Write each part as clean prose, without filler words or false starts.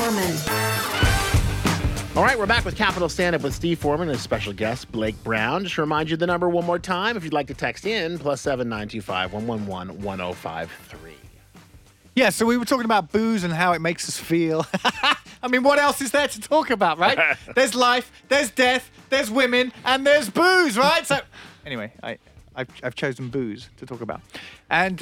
Foreman. All right, we're back with Capital Stand-Up with Steve Foreman and special guest Blake Brown. Just to remind you the number one more time if you'd like to text in, +7 925 111 1053. Yeah, so we were talking about booze and how it makes us feel. I mean, what else is there to talk about, right? There's life, there's death, there's women, and there's booze, right? So, anyway, I've chosen booze to talk about, and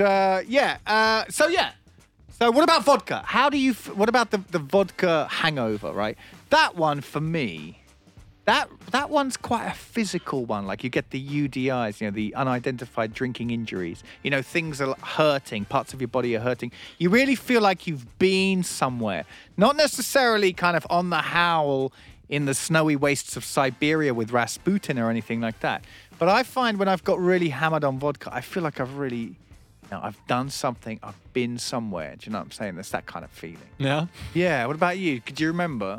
So what about vodka? How do you? What about the vodka hangover? Right, that one for me. That one's quite a physical one. Like you get the UDIs, the unidentified drinking injuries. Things are hurting. Parts of your body are hurting. You really feel like you've been somewhere. Not necessarily kind of on the howl in the snowy wastes of Siberia with Rasputin or anything like that. But I find when I've got really hammered on vodka, I feel like I've done something. I've been somewhere. Do you know what I'm saying? There's that kind of feeling. Yeah. Yeah. What about you? Could you remember?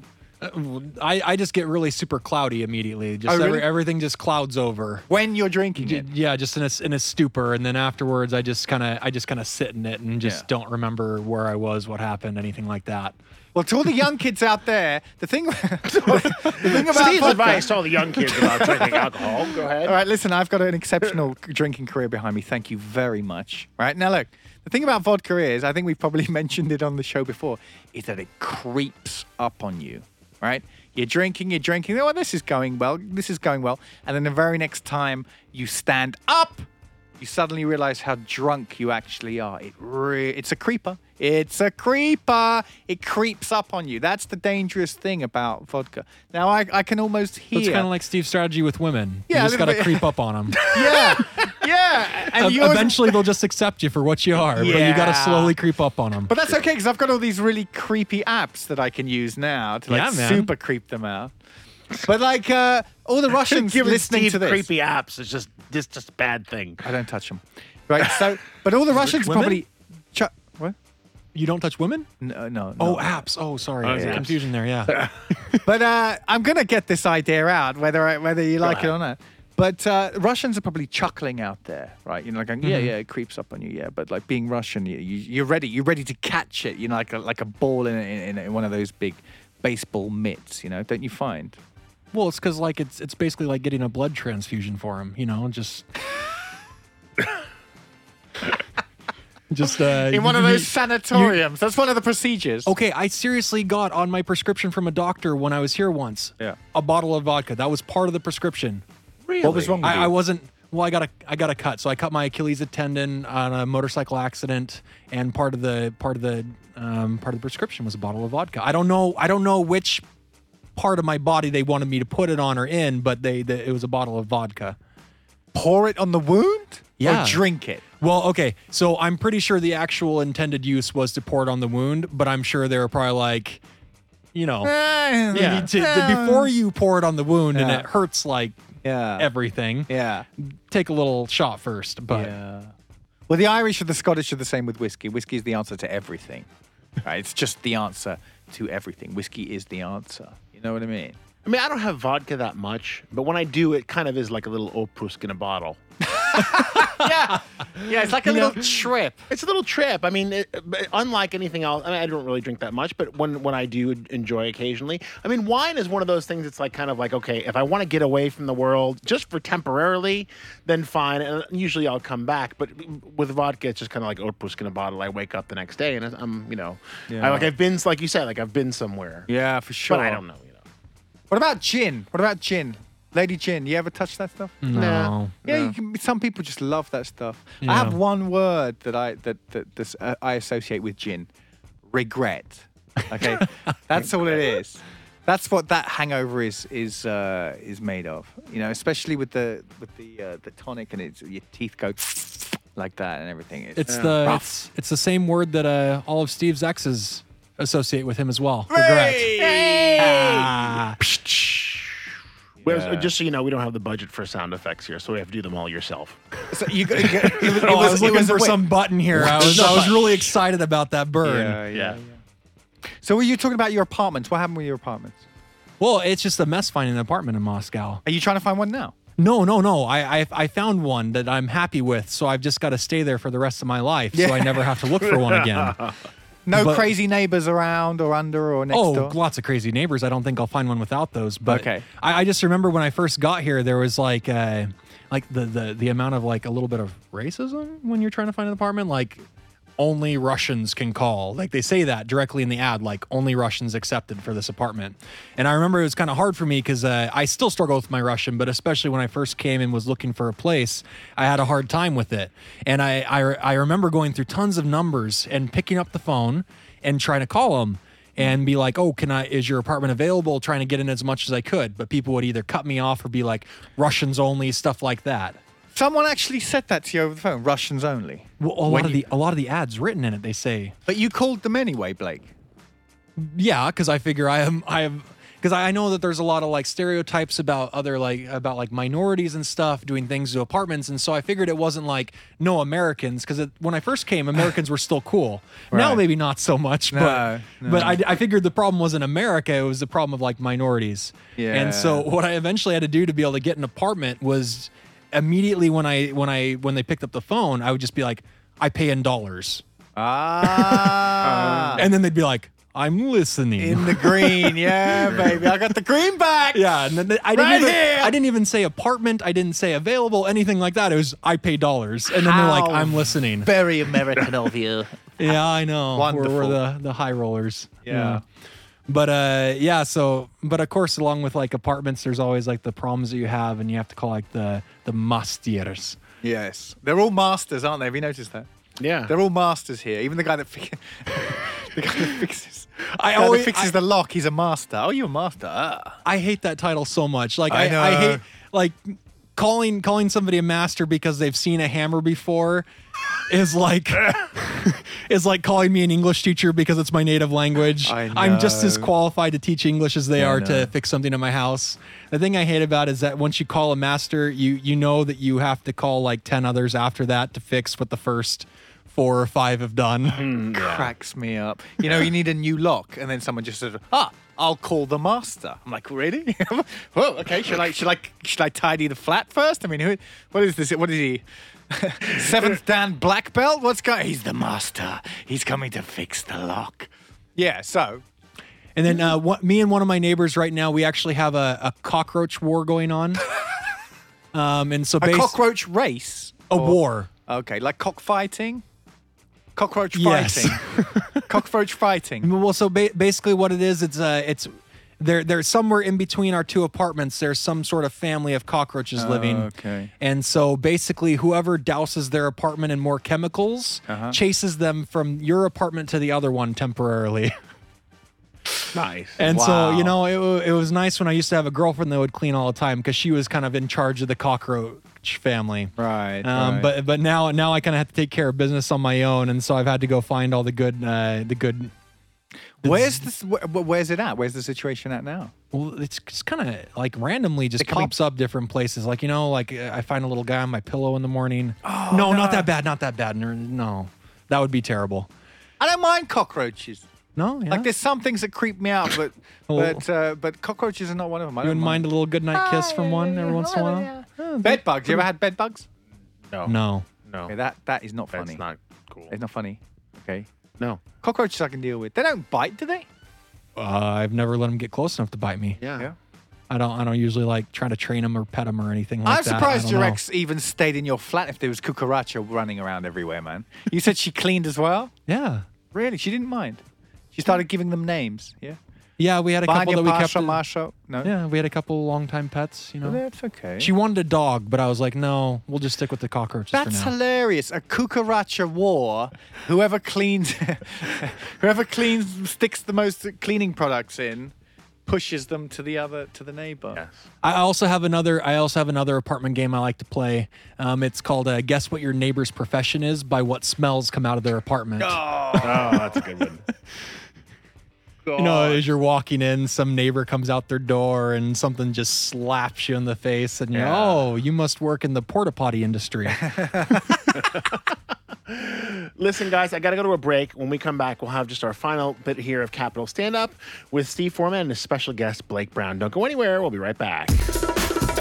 I just get really super cloudy immediately. Just really? Everything just clouds over. When you're drinking it? Yeah, just in a stupor, and then afterwards I just kind of sit in it and just don't remember where I was, what happened, anything like that. Well, to all the young kids out there, the thing about Steve's vodka, advice to all the young kids about drinking alcohol. Go ahead. All right, listen, I've got an exceptional drinking career behind me. Thank you very much. Right, now look, the thing about vodka is, I think we've probably mentioned it on the show before, is that it creeps up on you. Right? You're drinking. Oh, this is going well. And then the very next time you stand up, you suddenly realize how drunk you actually are. It's a creeper. It's a creeper. It creeps up on you. That's the dangerous thing about vodka. Now, I can almost hear... It's kind of like Steve's strategy with women. Yeah, you just got to creep up on them. Yeah. And Eventually, they'll just accept you for what you are. But you got to slowly creep up on them. But that's okay, because I've got all these really creepy apps that I can use now to super creep them out. But all the Russians listening to this... creepy apps is just a bad thing. I don't touch them. Right, so... But all the Russians probably... What? You don't touch women? No. Oh, apps. Oh, sorry. Yeah. Confusion there, yeah. But I'm going to get this idea out, whether you like it or not. But Russians are probably chuckling out there, right? Going, it creeps up on you, yeah. But being Russian, you're ready. You're ready to catch it. Like a ball in one of those big baseball mitts. Don't you find? Well, it's because it's basically like getting a blood transfusion for him. Just. In one of those sanatoriums. That's one of the procedures. Okay, I seriously got on my prescription from a doctor when I was here once. Yeah. A bottle of vodka. That was part of the prescription. Really? What was wrong with you? I wasn't. Well, I got a cut. So I cut my Achilles tendon on a motorcycle accident, and part of the prescription was a bottle of vodka. I don't know which part of my body they wanted me to put it on or in, but it was a bottle of vodka. Pour it on the wound? Yeah. Or drink it? Well, okay. So I'm pretty sure the actual intended use was to pour it on the wound, but I'm sure they were probably like, before you pour it on the wound and it hurts everything. Yeah. Take a little shot first. But Well, the Irish or the Scottish are the same with whiskey. Whiskey is the answer to everything. Right? It's just the answer to everything. Whiskey is the answer. You know what I mean? I mean, I don't have vodka that much, but when I do, it kind of is like a little Oprusk in a bottle. Yeah, it's like a little trip. It's a little trip. I mean, unlike anything else, I don't really drink that much, but when I do enjoy occasionally, I mean, wine is one of those things. It's kind of like, okay, if I want to get away from the world just for temporarily, then fine. And usually I'll come back. But with vodka, it's just kind of like Oprusk in a bottle. I wake up the next day and I'm, I've been, like you said, I've been somewhere. Yeah, for sure. But I don't know. What about gin? Lady gin, you ever touch that stuff? No. Yeah, some people just love that stuff. Yeah. I have one word that I associate with gin: regret. Okay, that's all it is. That's what that hangover is made of. Especially with the tonic, and your teeth go like that and everything. It's the same word that all of Steve's exes associate with him as well. Regret. Just so you know, we don't have the budget for sound effects here, so we have to do them all yourself. So I was looking for some button here. I was really excited about that burn. Yeah. So were you talking about your apartments? What happened with your apartments? Well, it's just a mess finding an apartment in Moscow. Are you trying to find one now? No. I found one that I'm happy with, so I've just got to stay there for the rest of my life, so I never have to look for one again. No But- crazy neighbors around or under or next door? lots of crazy neighbors. I don't think I'll find one without those. But Okay. I just remember when I first got here, there was like the amount of like a little bit of racism when you're trying to find an apartment. Like only Russians can call. Like they say that directly in the ad, like only Russians accepted for this apartment. And I remember it was kind of hard for me because I still struggle with my Russian, but especially when I first came and was looking for a place, I had a hard time with it. And I remember going through tons of numbers and picking up the phone and trying to call them and be like, oh, is your apartment available? Trying to get in as much as I could. But people would either cut me off or be like, Russians only, stuff like that. Someone actually said that to you over the phone. Russians only. Well, a lot of the ads written in it, they say, But you called them anyway, Blake. yeah, because I figure because I know that there's a lot of like stereotypes about about minorities and stuff doing things to apartments, and so I figured it wasn't like no Americans, because when I first came, Americans were still cool. Now Right. maybe not so much, No. but I figured the problem wasn't America; it was the problem of like minorities. Yeah. And so what I eventually had to do to be able to get an apartment was immediately when they picked up the phone, I would just be like, I pay in dollars, Ah. and then they'd be like, I'm listening. In the green. Yeah, baby. I got the green back. Yeah, and then I didn't even say apartment. I didn't say available, anything like that. It was I pay dollars, and then they're like, How I'm listening. Very American of you. Yeah, I know. Wonderful. We're the high rollers. Yeah. But but of course, along with like apartments, there's always like the problems that you have, and you have to call like the masters. Yes. They're all masters, aren't they? Have you noticed that? Yeah. They're all masters here. Even the guy that the guy that fixes the lock, he's a master. Oh, you're a master. Ah. I hate that title so much. Like I I know. hate like calling somebody a master because they've seen a hammer before is like calling me an English teacher because it's my native language. I'm just as know. qualified to teach English as they are know. to fix something in my house. The thing I hate about it is that once you call a master, you know that you have to call like 10 others after that to fix what the first 4 or 5 have done. Cracks me up. You know, you need a new lock, and then someone just said, I'll call the master. I'm like, really? Well, okay. Should I tidy the flat first? I mean, what is this? What is he? 7th Dan black belt? What's going? He's the master. He's coming to fix the lock. Yeah. So And then me and one of my neighbors right now, we actually have a cockroach war going on. And so a cockroach race. a war. Okay, like cockfighting. Cockroach Yes. fighting. Cockroach fighting. Well, so basically what it is, it's there's somewhere in between our 2 apartments, there's some sort of family of cockroaches living. okay. And so basically whoever douses their apartment in more chemicals chases them from your apartment to the other one temporarily. Nice. And Wow. so, you know, it was nice when I used to have a girlfriend that would clean all the time because she was kind of in charge of the cockroach family. Right. But now I kind of have to take care of business on my own, and so I've had to go find all the good. Where's this? Where's it at? Where's the situation at now? Well, it's just kind of like randomly just It can be- pops up different places. Like, you know, like I find a little guy on my pillow in the morning. Oh, no, not that bad. Not that bad. No, that would be terrible. I don't mind cockroaches. No, yeah. Like there's some things that creep me out, but but cockroaches are not one of them. I You don't wouldn't mind a little goodnight kiss from one every once in a while? Bed bugs. You ever had bed bugs? No. Okay, that is not funny. That's not cool. It's not funny. Okay. No. Cockroaches I can deal with. They don't bite, do they? I've never let them get close enough to bite me. Yeah. I don't usually like try to train them or pet them or anything like I'm that. surprised I your don't know. ex even stayed in your flat if there was cucaracha running around everywhere, man. You said she cleaned as well? Yeah. Really? She didn't mind? She started giving them names, yeah? Yeah, we had a couple that we kept. Marsha? No? Yeah, we had a couple longtime pets, you know. Well, that's okay. She wanted a dog, but I was like, no, we'll just stick with the cockroaches That's for now. hilarious. A cucaracha war. Whoever cleans, sticks the most cleaning products in, pushes them to the neighbor. Yes. I also have another apartment game I like to play. It's called Guess What Your Neighbor's Profession Is by what smells come out of their apartment. Oh, that's a good one. You know, as you're walking in, some neighbor comes out their door and something just slaps you in the face, and you're, oh, you must work in the porta potty industry. Listen, guys, I got to go to a break. When we come back, we'll have just our final bit here of Capital Stand Up with Steve Foreman and his special guest, Blake Brown. Don't go anywhere. We'll be right back.